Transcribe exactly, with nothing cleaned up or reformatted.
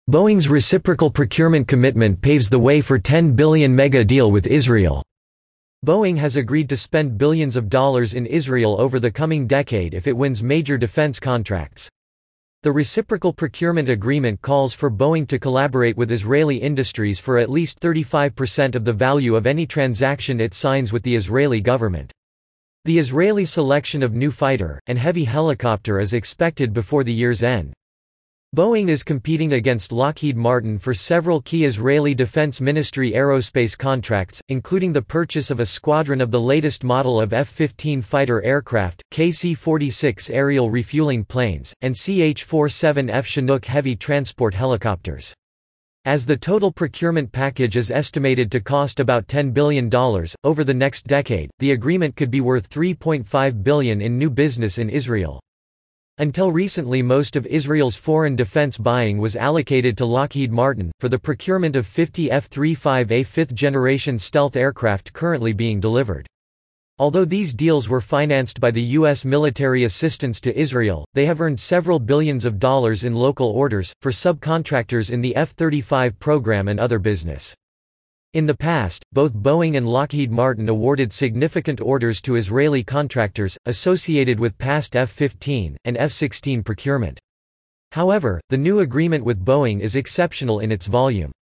Boeing's reciprocal procurement commitment paves the way for ten billion dollars mega deal with Israel. Boeing has agreed to spend billions of dollars in Israel over the coming decade if it wins major defense contracts. The reciprocal procurement agreement calls for Boeing to collaborate with Israeli industries for at least thirty-five percent of the value of any transaction it signs with the Israeli government. The Israeli selection of new fighter and heavy helicopter is expected before the year's end. Boeing is competing against Lockheed Martin for several key Israeli Defense Ministry aerospace contracts, including the purchase of a squadron of the latest model of F fifteen fighter aircraft, K C forty-six aerial refueling planes, and C H forty-seven F Chinook heavy transport helicopters. As the total procurement package is estimated to cost about ten billion dollars, over the next decade, the agreement could be worth three point five billion dollars in new business in Israel. Until recently, most of Israel's foreign defense buying was allocated to Lockheed Martin, for the procurement of fifty F thirty-five A fifth-generation stealth aircraft currently being delivered. Although these deals were financed by the U S military assistance to Israel, they have earned several billions of dollars in local orders, for subcontractors in the F thirty-five program and other business. In the past, both Boeing and Lockheed Martin awarded significant orders to Israeli contractors, associated with past F fifteen and F sixteen procurement. However, the new agreement with Boeing is exceptional in its volume.